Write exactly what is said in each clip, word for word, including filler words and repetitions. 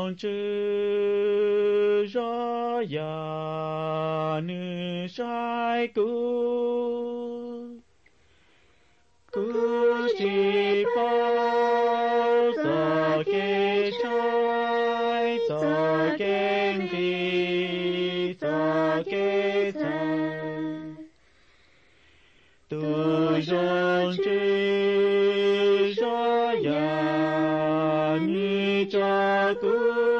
rong chữ rõ ya nữ sai cũ cũ chỉ bao giờ kê trái giờ kê đi giờ kê trái tu rong chữ rõ ya nữ cha cũ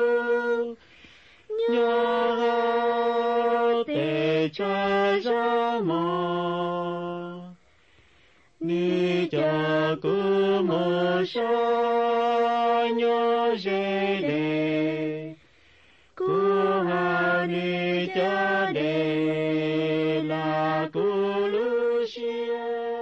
nhớ để cha ra mà nữ cha cũ mơ sa nhớ dễ để cũ hà nữ cha để là cũ Lucia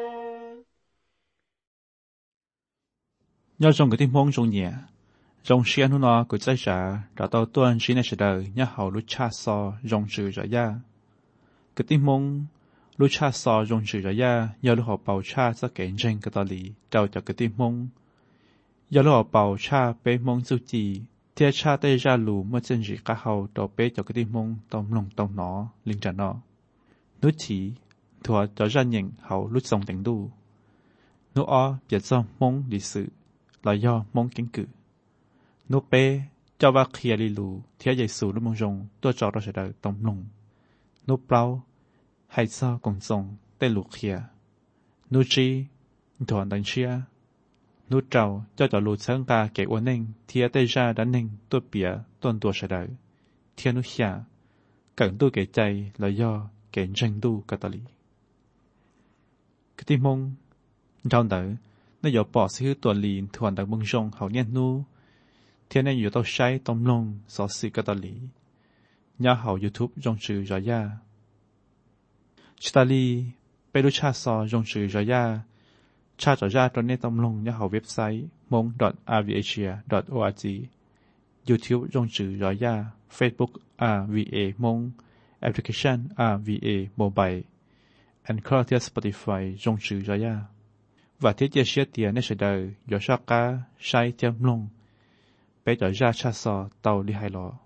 nhớ trong cái tim mong trong nhẹ trong xe nó nó của trái trả đã tao tuân chỉ này sẽ đời nhớ hậu lúc cha so trong sự rõ ya cái tim mong lúc cha so trong sự rõ ya nhớ lúc họ bảo cha sẽ kể trên cái đạo lý trao cho cái tim mong nhớ lúc họ bảo cha bé mong su chỉ theo cha tây ra lù mới chân gì cả hậu đầu bé cho cái tim mong tông lòng tông nó linh trả nó nút chỉ thua cho ra nhận hậu lúc xong tiếng đu nút o biết do mong lịch sử là do mong kiến cử nô bê cho va kia li lù theo dạy sử lúc mong rong tôi cho đó sẽ đời tông lùng nô bao hay sao còn rong tê lù kia nô chi thuần đánh chia nô trâu cho cho lù sáng ca kể uốn neng theo tây ra đã neng tôi bịa tuần tua sẽ đời theo nô xia cần tôi kểใจlà do kể tranh tu cả tali cái tim mong trong đó nó giờ bỏ sự tuần lìn thuần đặc mong rong hậu nhiên nu thiên nênอยู่ต้องใช้ต้มลงสอสื่อกตาลีย่าเห่า YouTube จงชื่อจอยาชิตาลีไปรู้ชาซอจงชื่อจอยาชาจอยาตอนนี้ต้มลงย่าเห่าเว็บไซต์ มง ดอท อาร์ วี เอ เอ ดอท โอ อาร์ จี YouTube จงชื่อจอยา Facebook อาร์ วี เอ มง แอปพลิเคชัน อาร์ วี เอ Mobile Anchor ที่ Spotify จงชื่อจอยาว่าที่จะเชื่อเตียในเสดย์ยอชากาใช้เทียมลงbé cho ra cha so tàu đi hai lò.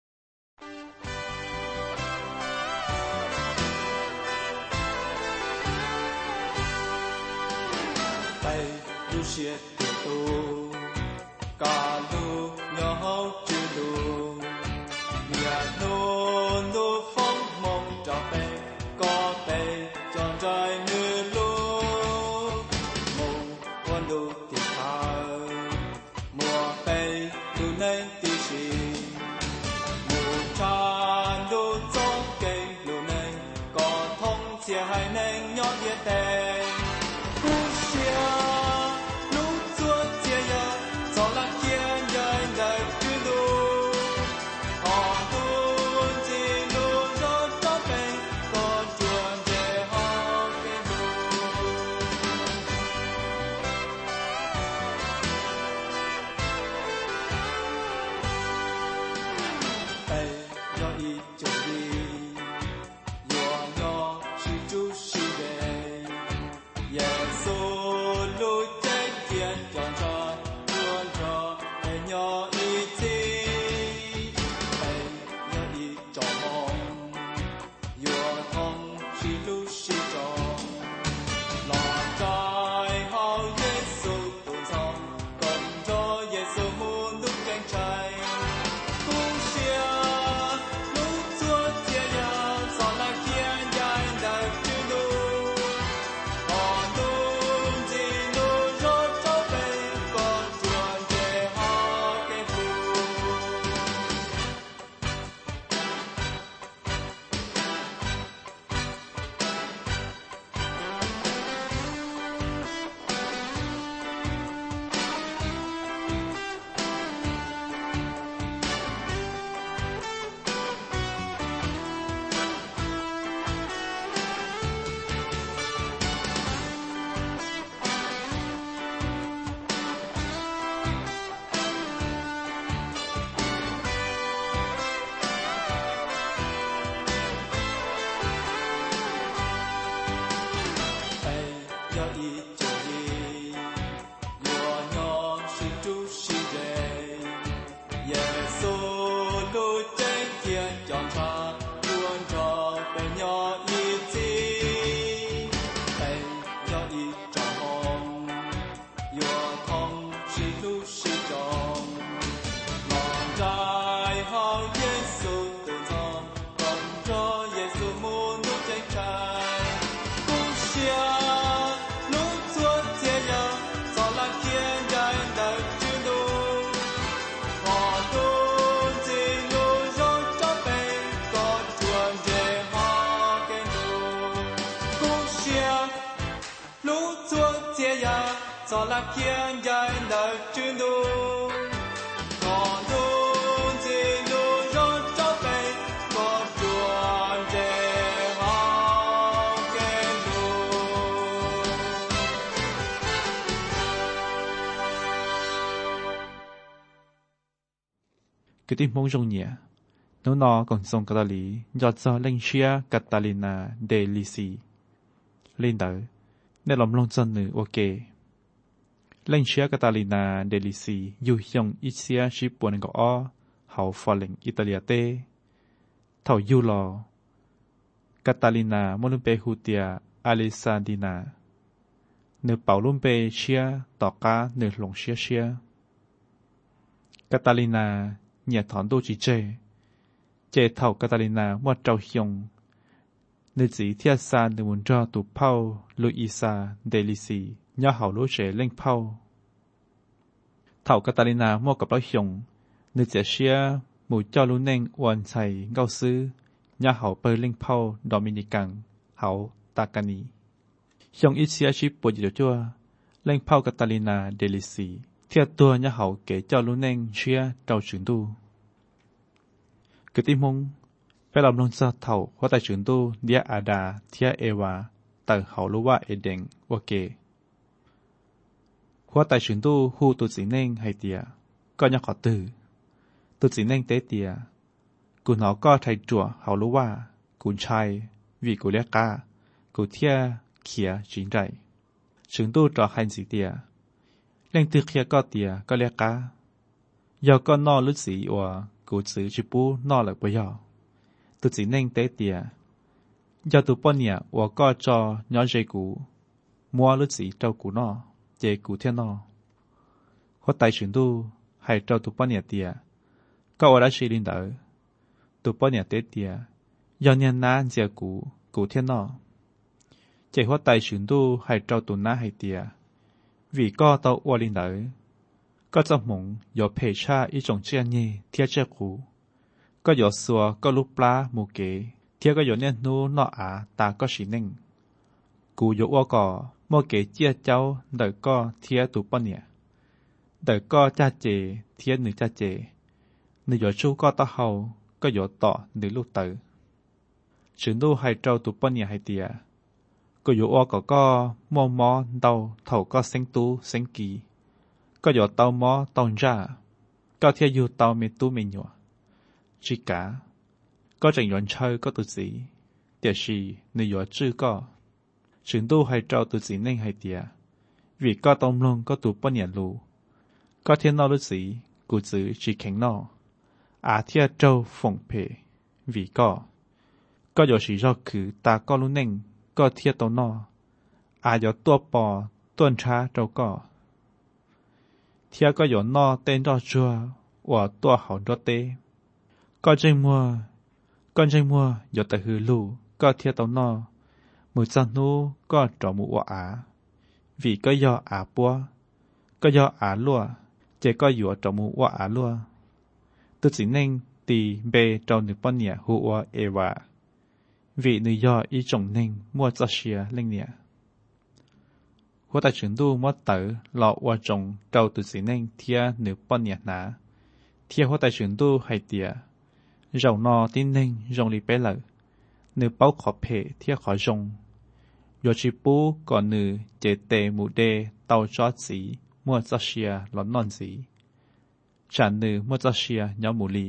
Tay du xiết tu, cả lu nhau chữ lu, nhà nôn lu phong mong cho bé, có bé chọn trai như lu, mong quan lu thì thà, mùa bé nên tí xì mù tràn đô trong cây lù nên có thông chia hai nên nhót địa tề cú xia lũ chúa chia ya cho là kia đời đời chữ lù họ tuôn chỉ lù cho cho cây có chuồn để họ cây lù tay nhỏ ít chỗ đi nhỏ nhỏ chỉ chú chỉ về Giêsu lối chết thiên chọn cho luôn cho tay nhỏ ít chi tay nhỏ ít cho mong nhỏ thông chỉ chú chỉ cho là trái hao Giêsu tu xong còn cho Giêsu muốn lúc cánh trái Hãy cho là kiên dài đời chuyên đu còn đu gì đu rót cho về có chuồn về họ kêu đu cái tim mong rong nhẹ nếu nó còn song cả lý do cho lên chia Catalina de Lisi lên đời để làm long chân nữ ok lên chia Catalina de Lisi yêu dùng ít xia chỉ buồn gõ o hậu phò lệnh Italia tê thầu yêu lò Catalina Molumpe Hutia Alessandina nữ bảo Lumpe chia tỏ cá nữ lồng chia chia Catalina nhà thọn đô chỉ chê chê thầu Catalina mua trâu hiong nữ chỉ thiết xa nữ muốn cho tụ Paul Luisa Delisi nhớ hậu lũ trẻ lên Paul thầu Catalina mua cặp đó hiong nữ chỉ xia mù cho lũ neng hoàn chạy ngao sư nhớ hậu bơi lên Paul Dominican hậu Takani hiong ít xia chỉ bồi gì cho lên Paul Catalina Delisi thiết tua nhớ hậu kể cho lũ neng xia trâu trưởng tu cái tim mông phải làm lông sa thầu hóa tại trường tu dia ada thia ewa tại hậu lúa eden ok hóa tại trường tu hu tu chỉ nên hay tia có nhắc họ từ tu chỉ nên tế tia cụ nó có thay chùa hậu lúa cụ trai vì cụ liếc ca cụ thia kia chính đại trường tu trò hành gì tia lên từ kia có tia có liếc ca giờ có no lứt gì và cụ chữ chỉ bù no lại bây giờ tôi chỉ nên tế tiệt giờ tôi bao nhiêu và có cho nhỏ dây cụ mua lứt gì trâu cụ no dây cụ thiên no hoặc tại trường tu hay trâu tôi bao nhiêu tiệt có ở đó chỉ linh đạo tôi bao nhiêu tế tiệt giờ nhân na dây cụ cụ thiên no dây hoặc tại trường tu hay trâu tôi na hay tiệt vì có tàu ở linh đạo có trong mộng có thể tra ý trong chuyện nhỉ thiết chế cũ có có xua có lúc plá mù kế thiết có có nên nu nọ à ta có xí ninh cú có có mù kế chia cháu đợi có thiết tụ bao nhiêu đợi có cha chế thiết nữ cha chế nữ có chú có tao hậu có có tọ nữ lúc tử chuyện đu hay trâu tụ bao nhiêu hay tiệt có có có có mò mò đầu thầu có sinh tu sinh kỳ có có tàu mò tàu ra có thể yêu tàu mê tu mê nhỏ chỉ cả có trình luận chơi có tự gì để gì nơi có chữ có chuyện tu hay trao tự gì nên hay tiệt vì có tông luôn có tụ bao nhiêu lù có thiên nào lúc gì cụ chữ chỉ khéng nọ à thiên trâu phồng phê vì có có có gì do cứ ta có lúc nên có thiên tàu nọ à có tua bò tuần tra trâu có thiên có có nọ tên đó chua và tua hậu đó tê có tranh mua con tranh mua có tại hư lù có thiên tàu nọ mùi chân nu có trò mũ quả á vì có do á bua có do á lúa chỉ có dùa trò mũ quả á lúa tôi chỉ nên tì bê trò nữ bọn nhẹ hùa ewa vì nữ do ý trọng nên mua cho xìa lên nhẹ hùa tại trường tu mua tử lọ hoa trọng trò tôi chỉ nên thia nữ bọn nhẹ ná thia hùa tại trường tu hay tìa rồng nọ tin nên rồng lì bé lợ nữ bao khó phê thia khó rồng yo chỉ bố còn nữ chế tề mù đê tàu cho chỉ mua cho xìa lón non gì trả nữ mua cho xìa nhỏ mù lì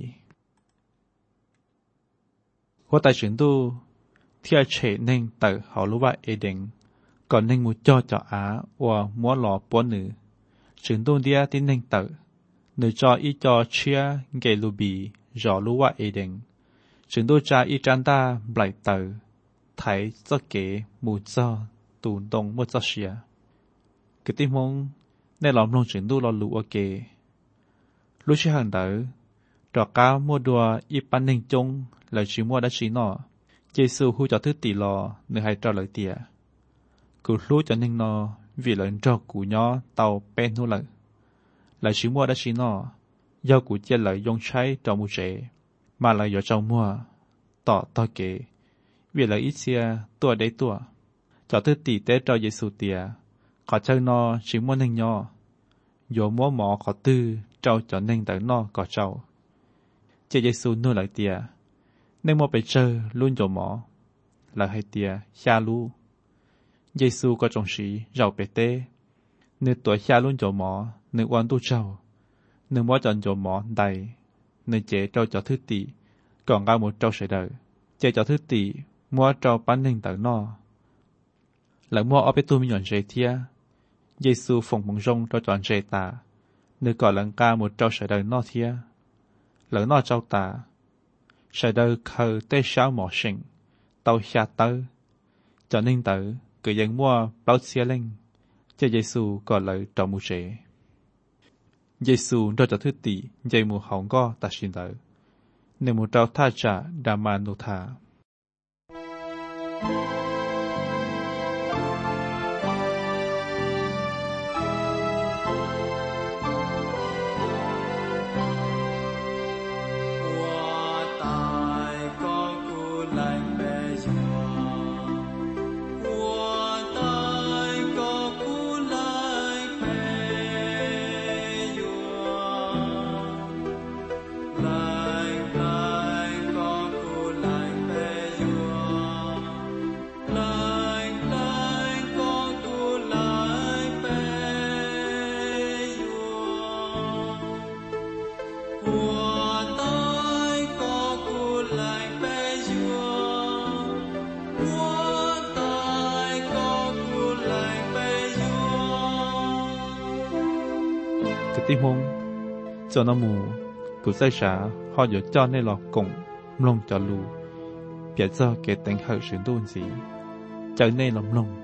hùa tại trường tu thia chế nên tự họ lúc vậy ế định còn nên mua cho cho á và mua lọ bó nữ trường tu đia tin nên tự nữ cho ý cho chia gây lù bì rõ lúc vậy ế định trường tu cha ý trang ta blại tự thấy cho kế mù cho tù đông mua cho xìa cái tim mong nên làm lòng trường tu lo lụ ok lúc chỉ hàng đỡ trò cao mua đùa y pan ninh chung lời chỉ mua đã chỉ nọ Giêsu hu cho thứ tỷ lò nơi hay cho lời tìa cụ lúc cho ninh nọ vì lời cho cụ nhỏ tàu pen hú lời lời chỉ mua đã chỉ nọ do cụ chia lời dùng trái cho mu trẻ mà lời do trong mua tỏ to kể vì lời ít xia tua đấy tua cho thứ tỷ tế cho Giêsu tìa có chơi nọ chỉ mua ninh nhỏ dù mua mỏ có tư trâu cho ninh tới nọ có trâu Chị Giêsu nuôi lại tìa nên mua bể chơi luôn dầu mỏ là hai tìa xa lu Giêsu có trong sĩ giàu bể tê nên tuổi xa luôn dầu mỏ nên oan tu trâu nên mua chọn dầu mỏ đầy nên chế trâu cho thứ tỷ còn ra một trâu sợi đời chế cho thứ tỷ mua trâu bán ninh tới nọ lại mua ở bể tu mi nhọn dễ thia Giêsu phồng bằng rong cho chọn dễ tà nên còn lần ca một trâu sợi đời nọ thia lỡ nó trâu tà sợi đời khờ tê sáu mỏ sinh tàu xa tớ cho nên tớ cứ dân mua bao xe lên cho Giêsu còn lời trò mù trẻ Giêsu đôi cho thứ tỷ dây mù hỏng go ta xin tớ nên mù trâu tha trả đà mà nụ thả Tim hông cho nó mù cụ sai xã họ dựa cho nên lọ cổng lông cho lù biết do cái tính hậu sự đôn gì trở nên lòng lông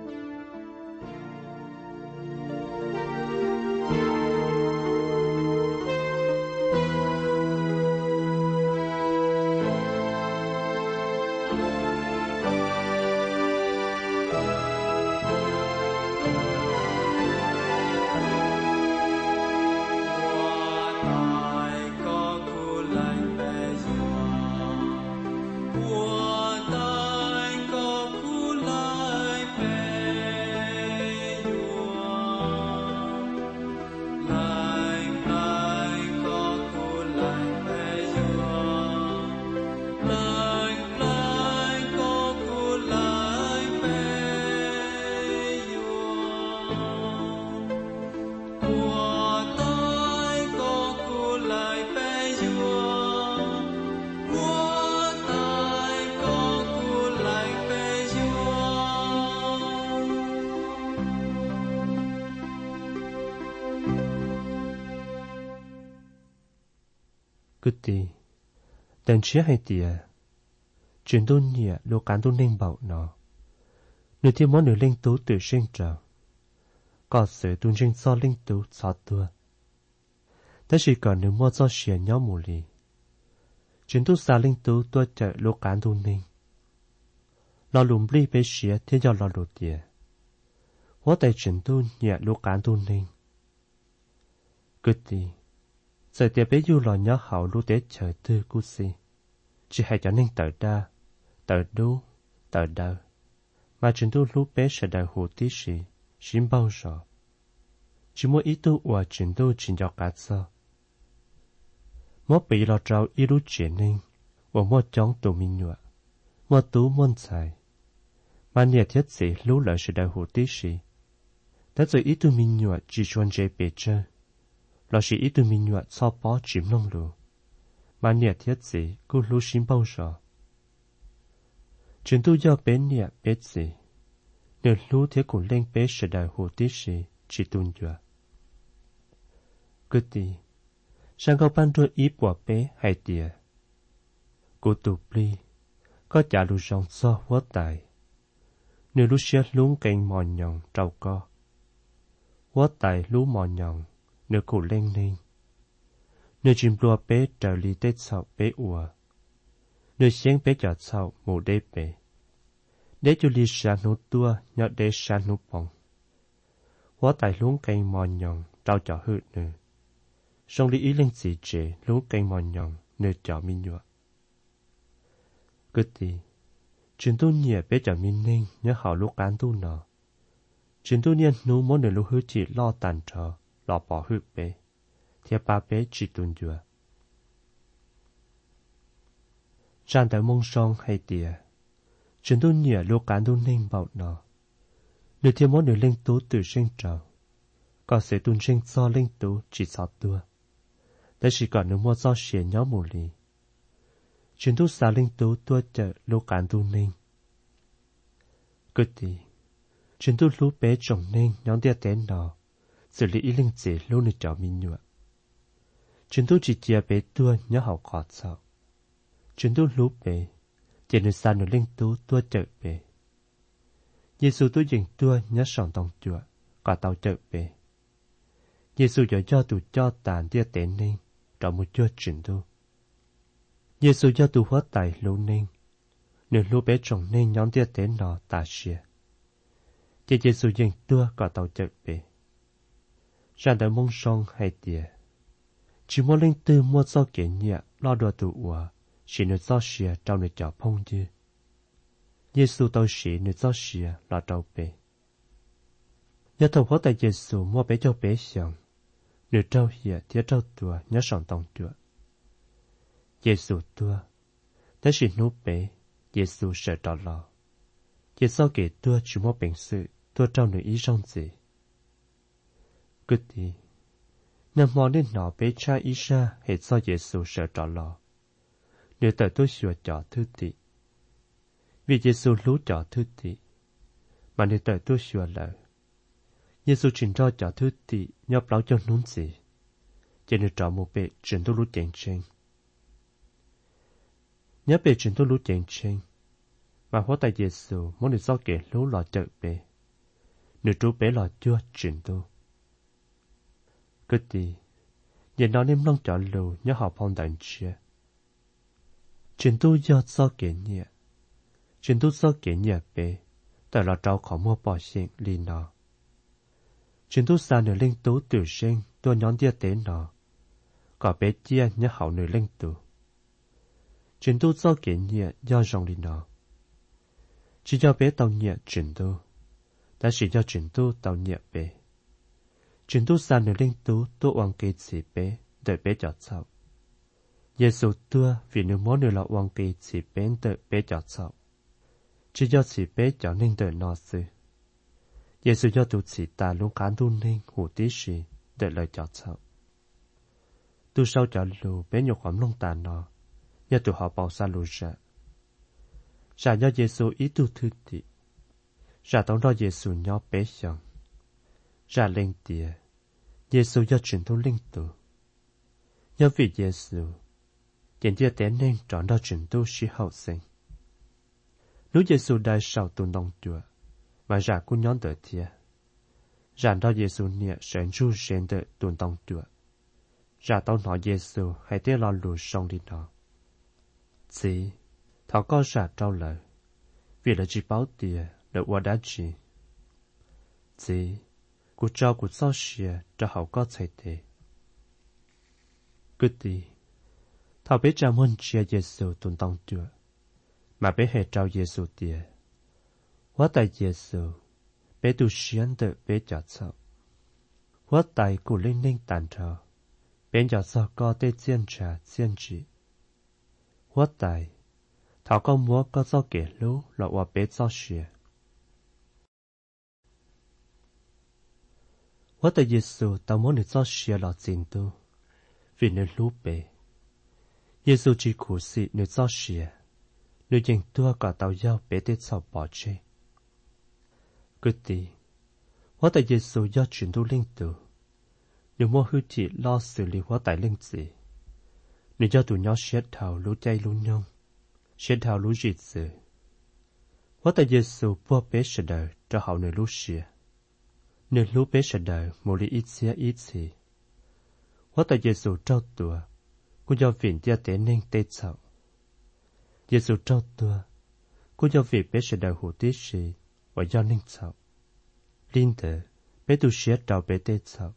Good day. Đàn chia hay tìa. Chuyện đôn nhẹ lô cán đôn ninh bảo nó. Nửa thiên món nửa linh tú tự sinh trở. Có sự đôn sinh do linh tú xót tua. Thế chỉ còn nửa mua do xìa nhau mù lì. Chuyện tú xa linh tú tua chạy lô cán đôn ninh. Lò lùm ly bế xìa thiên do lò lụt tìa. Hóa tay chuyện đôn nhẹ lô cán đôn ninh. Good day. Giờ tiệp bé du lò nhỏ hậu lưu tế trời tư cú si. Chỉ hay cho nên tờ đa, tờ đu, tờ đơ. Mà chúng tôi lúc bé sẽ đợi hồ tí sĩ, xin bao giờ. Chỉ mỗi ý tôi và chúng tôi chỉ cho cả sơ. Mỗi bị lò trao ý lúc chuyện nên, và mỗi chóng tù mình nhựa. Mỗi tú môn xài. Mà nhiệt thiết sĩ lúc lợi sẽ đợi hồ tí sĩ. Đã rồi ý tôi mình nhựa chỉ chuẩn dễ bề chơi. Là chỉ ít từ mình nhuận so bó chìm nông lù. Mà nhiệt thiết gì cô lưu xin bao giờ. Chúng tôi do bé nhiệt bé gì. Nếu lưu thiết cũng lên bé sẽ đại hồ tí sĩ chỉ tuân dựa. Cứ đi. Sang câu ban đôi ý bỏ bé hay tìa. Cô tụ ly. Có trả lưu rong so hóa tài. Nếu lưu xe lúng kênh mò nhọn trâu co. Hóa tài lưu mò nhọn. Nếu cụ lên lên. nơi chim lúa bé trở li tết sầu bé ủa, nơi sáng bé chợ sầu mù đế bé, đế cho li sa nụ tua nhọ đế sa nụ bông, hóa tại luống cây mò nhọn trao chợ hư nữa, song li ý lên gì chế luống cây mò nhọn nơi chợ mi nhọ. Cứ tí, chuyện tu nhẹ bé chợ mi nên nhớ họ lúc cán tu nọ, chuyện tu nhiên nụ muốn nơi lúc hư chỉ lo tàn trò, lo bỏ hư bé. Thì ba bé chỉ tuần dừa. Trang tới mông song hay tìa. Chúng tôi nhớ lúc cán tôi nên bảo nó. Nếu thì muốn được lên tố từ sinh trào. Có sẽ tuần sinh do lên tố chỉ sao tua. Tại chỉ còn nếu mua do xế nhóm mù lì. Chúng tôi xa lên tố tua chợ lúc cán tôi nên. Cứ tí. Chúng tôi lúc bé trồng nên nhóm tia tên nó. Xử lý ý linh dễ lúc nơi cháu mình nhựa. Chúng tôi chỉ chia bé tua nhớ học khó sao. Chúng tôi lúc bé, chỉ nơi xa nơi linh tú tua chợ bé. Giê-xu tôi dừng tua nhớ sòng tông chùa, cả tàu chợ bé. Giê-xu cho cho tụ cho tàn tia tên nên, trở một chua chuyển tôi. Giê-xu cho tụ hóa tài lâu nên, nơi lúc bé trồng nên nhóm tia tên nó tà xìa. Chỉ Giê-xu dừng tua cả tàu chợ bé. Ra đời mông song hay tìa. Chỉ muốn linh tư mua do kể nhẹ lo đồ tụ ủa, chỉ nơi do xìa trong nơi chảo phong dư. Giê-xu tao xỉ nơi do xìa lo trâu bê. Nhớ thầu hóa tại Giê-xu mua bé cho bé xong, nơi trâu hìa thiết trâu tùa nhớ sòng tông tùa. Giê-xu tùa, thế chỉ nụ bé, Giê-xu sợ trò lo. Giê-xu kể tùa chỉ mua bệnh sự, tùa trong nơi ý trong gì. Cứ tí. Nằm mò nên nó bé cha ý ra hệ do Giê-xu sợ trò lò. Nếu tới tôi xua trò thư tị. Vì Giê-xu lú trò thư tị. Mà nếu tới tôi xua lỡ. Giê-xu trình cho trò thư tị nhọc lão cho nún gì. Chỉ nếu trò một bệ trình tôi lú chèn chênh. Nhớ bệ trình tôi lú chèn chênh. Mà hóa tại Giê-xu muốn được do kể lú lò chợ bệ. Nếu chú bệ lò chưa trình tôi. Cứ tí, giờ nó nên long trở lù nhớ họ phong đàn chia. Chuyện tu do do kể nhẹ. Chuyện tu do kể nhẹ bế, tại là trao khó mua bỏ xịn lì nọ. Chuyện tu xa nửa linh tú tử sinh, tôi nhón tia tế nọ. Có bé chia nhớ hậu nửa linh tú. Chuyện tu do kể nhẹ do rong lì nọ. Chỉ do bé tàu nhẹ chuyện tu, đã chỉ do chuyện tu tàu nhẹ bế. Chuyện tu xa nửa linh tú tôi oan kỳ chỉ bé, đợi bé chọt sau. Giê-xu tua vì nửa món nửa là oan kỳ chỉ bé đợi bé chọt sau. Chỉ do chỉ bé chọt nên đợi nó sư. Giê-xu do tụ chỉ ta luôn khán tu nên hủ tí xì, đợi lời chọt sau. Tu sau chọt lù bé nhục hỏng lông tàn nó, nhờ tụ họ bảo xa lù ra. Ra do Giê-xu ý tu thư tị. Ra tống đó Giê-xu nhỏ bé xong. Ra lên tìa, Giê-xu do truyền tu linh tu. Nhớ vì Giê-xu, tiền tia tế nên trọn đó truyền tu sĩ hậu sinh. Lúc Giê-xu đại sau tu nông chùa, mà ra cũng nhón đợi thịa. Ra đó Giê-xu nhẹ sẵn ru sẵn đợi tu nông chùa. Ra tao nói Giê-xu hay tế lo lù sông đi nó. Chỉ, thảo có ra trao lời, vì là chỉ báo tìa, đợi qua đá chỉ. Chỉ, cụ trao cụ sao xìa cho hậu có thể thế. Cứ tí, thảo bé cha môn chia Giê-xu tuần tông chùa, mà bé hệ trao Giê-xu tìa. Hóa tại Giê-xu, bé tu xiên đợi bé chọt sao. Hóa tại cụ linh linh tàn trò, bé chọt sao có tê chiên trà chiên trị. Hóa tại, thảo có múa có do kể lũ là hóa bé sao xìa. Hóa tại Giê-xu tao muốn được cho xìa lọ dình tu, vì nơi lũ bề. Giê-xu chỉ khủ xị nơi cho xìa, nơi dình tua cả tao giao bế tết sau bỏ chê. Cứ tí, hóa tại Giê-xu do chuyển tu linh tu, nếu mua hư chỉ lo xử lý hóa tại linh gì, nếu do tụi nhỏ xếp thảo lũ chay lũ nhông, xếp thảo lũ dịt dự. Hóa tại Giê-xu bua bế sở đời cho hậu nơi lũ xìa. Nếu lúc bé sẽ đời một lý ít xía ít xì. Hóa tại Giê-xu trao tùa cô do viện tia tế nên tê chậu. Giêsu trao tua, cô do vị bé sẽ đào hủ tí sĩ, và do nên chậu. Linh tử, bé tu xế trao bé tê chậu.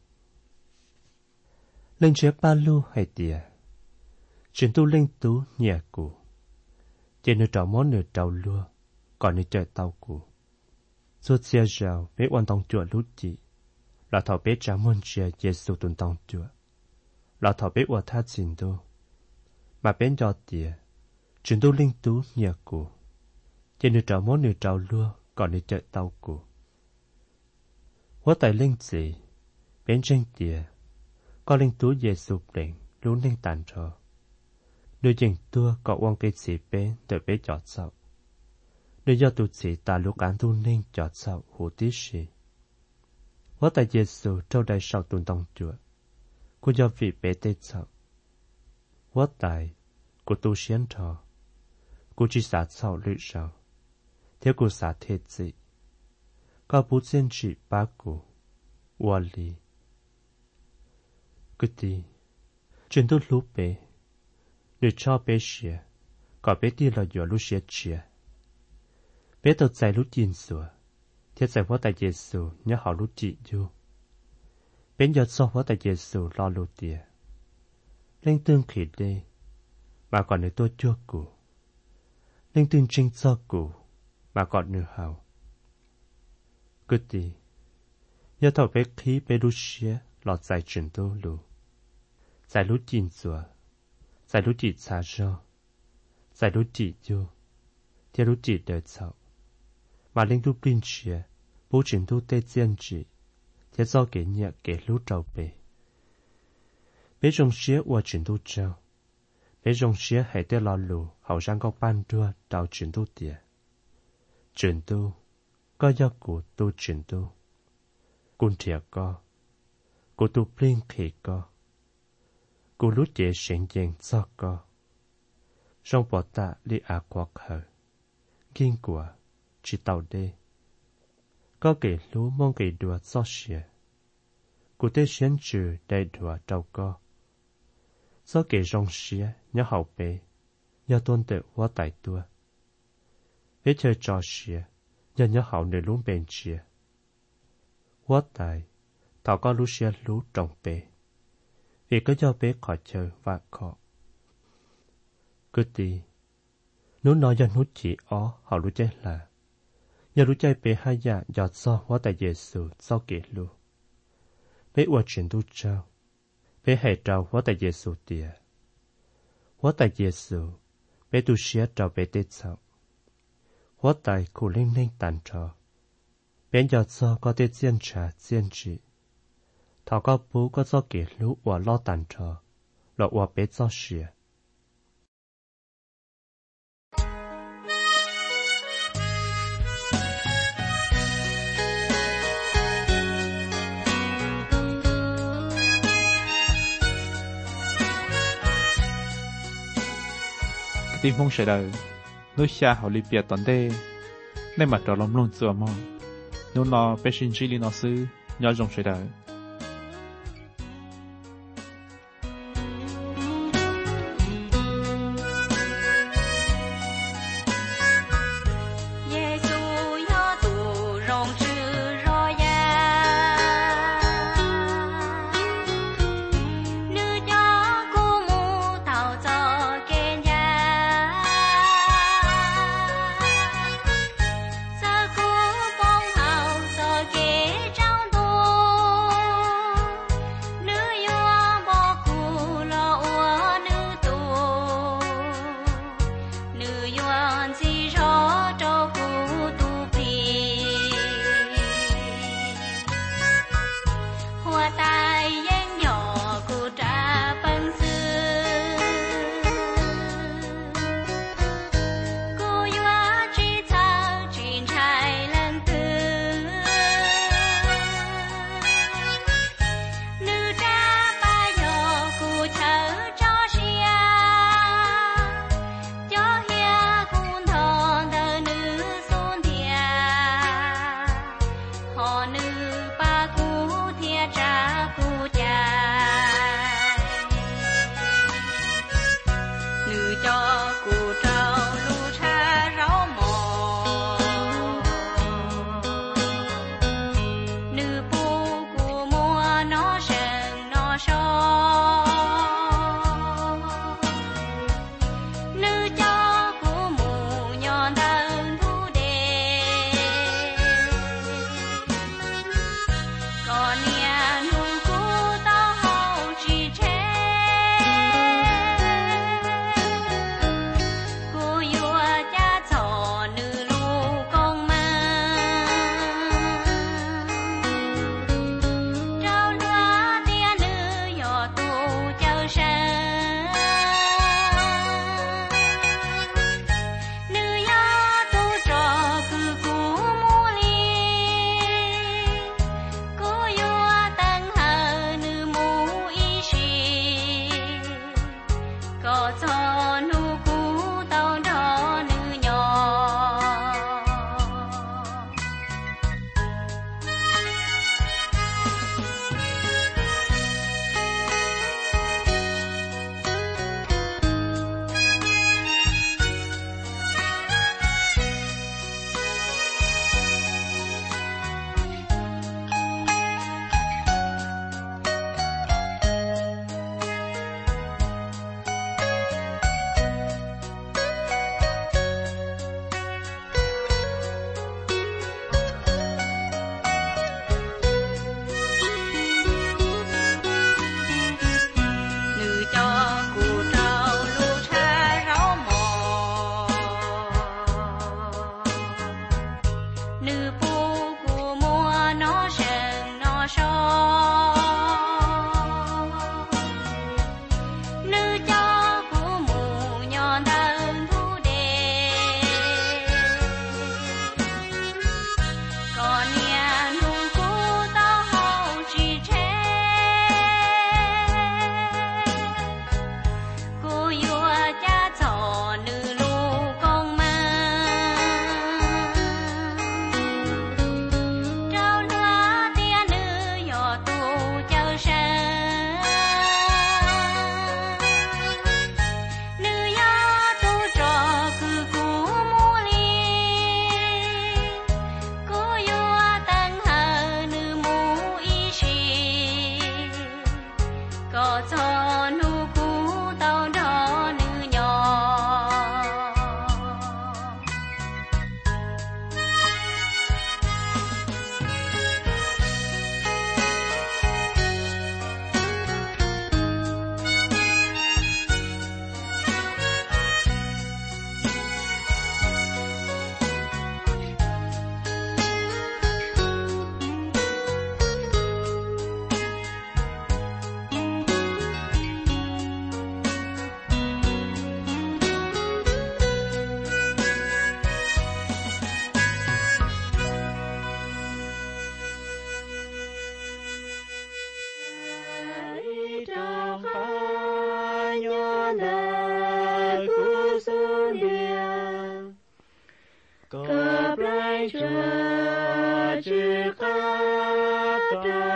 Lên chế ba lưu hay tìa. Chuyện tu linh tú nhà cụ. Chỉ nửa trao món nửa trao lua, còn nửa trời tàu cụ. Suốt xe rào, bé hoàn tông chùa lút chị. Là thọ bé trả môn chia Giêsu tuần tông chùa. Là thọ bé hòa tha trình đô. Mà bé cho tìa. Chuyện tu linh tú nhà cụ. Chỉ nửa trao món nửa trao lua, còn nửa trời tàu cụ. Hóa tại linh gì, bé tranh tìa. Có linh tú Giêsu bệnh, luôn nên tàn trò. Nơi dành tua có quan cây sĩ bé đợi bé chọt sau. Nơi do tụt sĩ ta lúc án tu nên chọt sau hủ tí sĩ. Hóa tại Giêsu trao đại sau tuần tông chùa. Cô do vị bé tê sau. Hóa tại cô tu xiên trò. Cô chỉ xả sau lưỡi sau. Theo cô xả thế gì. Có bút xin chỉ bá cô. Hòa lý. Cứ đi. Chuyện tôi lúc bé. Nếu cho bé xìa, có bé đi là dùa lúc xìa xìa. Bé tao chạy lúc nhìn xùa, thiết chạy hóa tại Giêsu nhớ họ lúc chị dù. Bé nhớ so hóa tại Giêsu lo lúc tìa. Lên tương khỉ đê, mà còn nếu tôi chua cụ. Lên tương trinh cho cụ, mà còn nửa hào. Cứ đi, nhớ thảo bé khí bé lúc xìa lọt dài chuyển tôi lù. Dài lúc nhìn xùa. Giải lúc chỉ xa rơ, giải lúc chỉ dù, theo lúc chỉ đời sau. Mà linh lúc bình chìa, bố trình lúc tê chiên chỉ, theo do kể nhẹ kể lúc trâu bề. Bé rong xía qua trình lúc trâu, bé rong xía hãy tê lo lù, hậu sang có ban đua đào trình lúc tìa. Trình tu, có do cụ tu trình tu. Cún thịa co, cụ tu bình khỉ co. Cô lúc chế sáng dàng cho co. Trong bỏ tạ li á quạc hờ. Kinh quả, chỉ tàu đê. Có kể lú mong kể đùa cho xìa. Cô tê xuyên trừ đầy đùa trâu co. Do kể rong xìa nhớ hậu bế. Nhớ tôn tự hóa tài tua. Hế chơi trò xìa. Nhớ nhớ hậu nơi lún bền xìa. Hóa tài. Thảo có lú xìa lú trọng bế. Vì có cho bé khỏi chờ và khó. Cứ đi. Nếu nói cho nút chỉ ó, họ lúc chết là. Nhờ lúc chạy bé hai dạ giọt so hóa tại Giêsu sau kể lưu. Bé ua chuyển tu trao. Bé hãy trao hóa tại Giêsu tìa. Hóa tại Giêsu, bé tu xía trao bé tết sau. Hóa tại cụ linh linh tàn trò. Bé giọt so có tết chiên trà chiên trị. Thảo có bố có do kể lũ và lo tàn trò, lọ và bé do xìa. Tim phong sẽ đời, nước xa họ lì bìa toàn đê, nên mặt trò lòng luôn chùa mò. Nếu nó bé xin chỉ lý nó sư, nhớ dòng sẽ đời.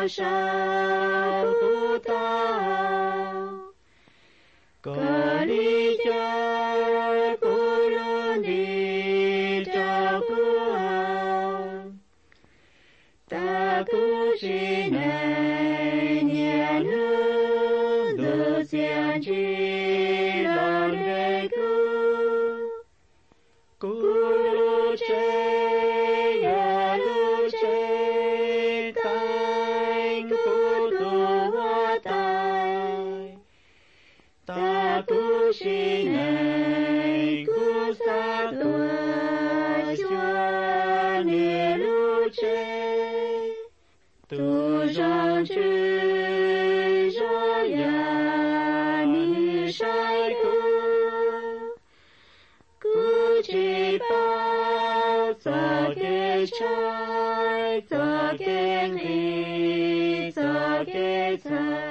sao khu tao có lý cho khu luôn đi cho khu hào ta khu chỉ này nhà nước đồ xiên chỉ lòng đời khu khu lu chế nhà lu chế cánh khu tu hoa tài ta khu chỉ này khu xa tua chúa nề lu chế tu rong chữ cho ya ni sai khu cứ chỉ bao giờ cái trái giờ cái đi giờ cái trái